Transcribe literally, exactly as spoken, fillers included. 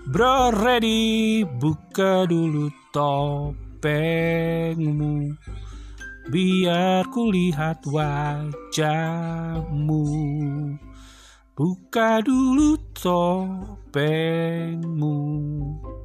Bro ready, buka dulu topengmu, biar kulihat wajahmu. Buka dulu topengmu.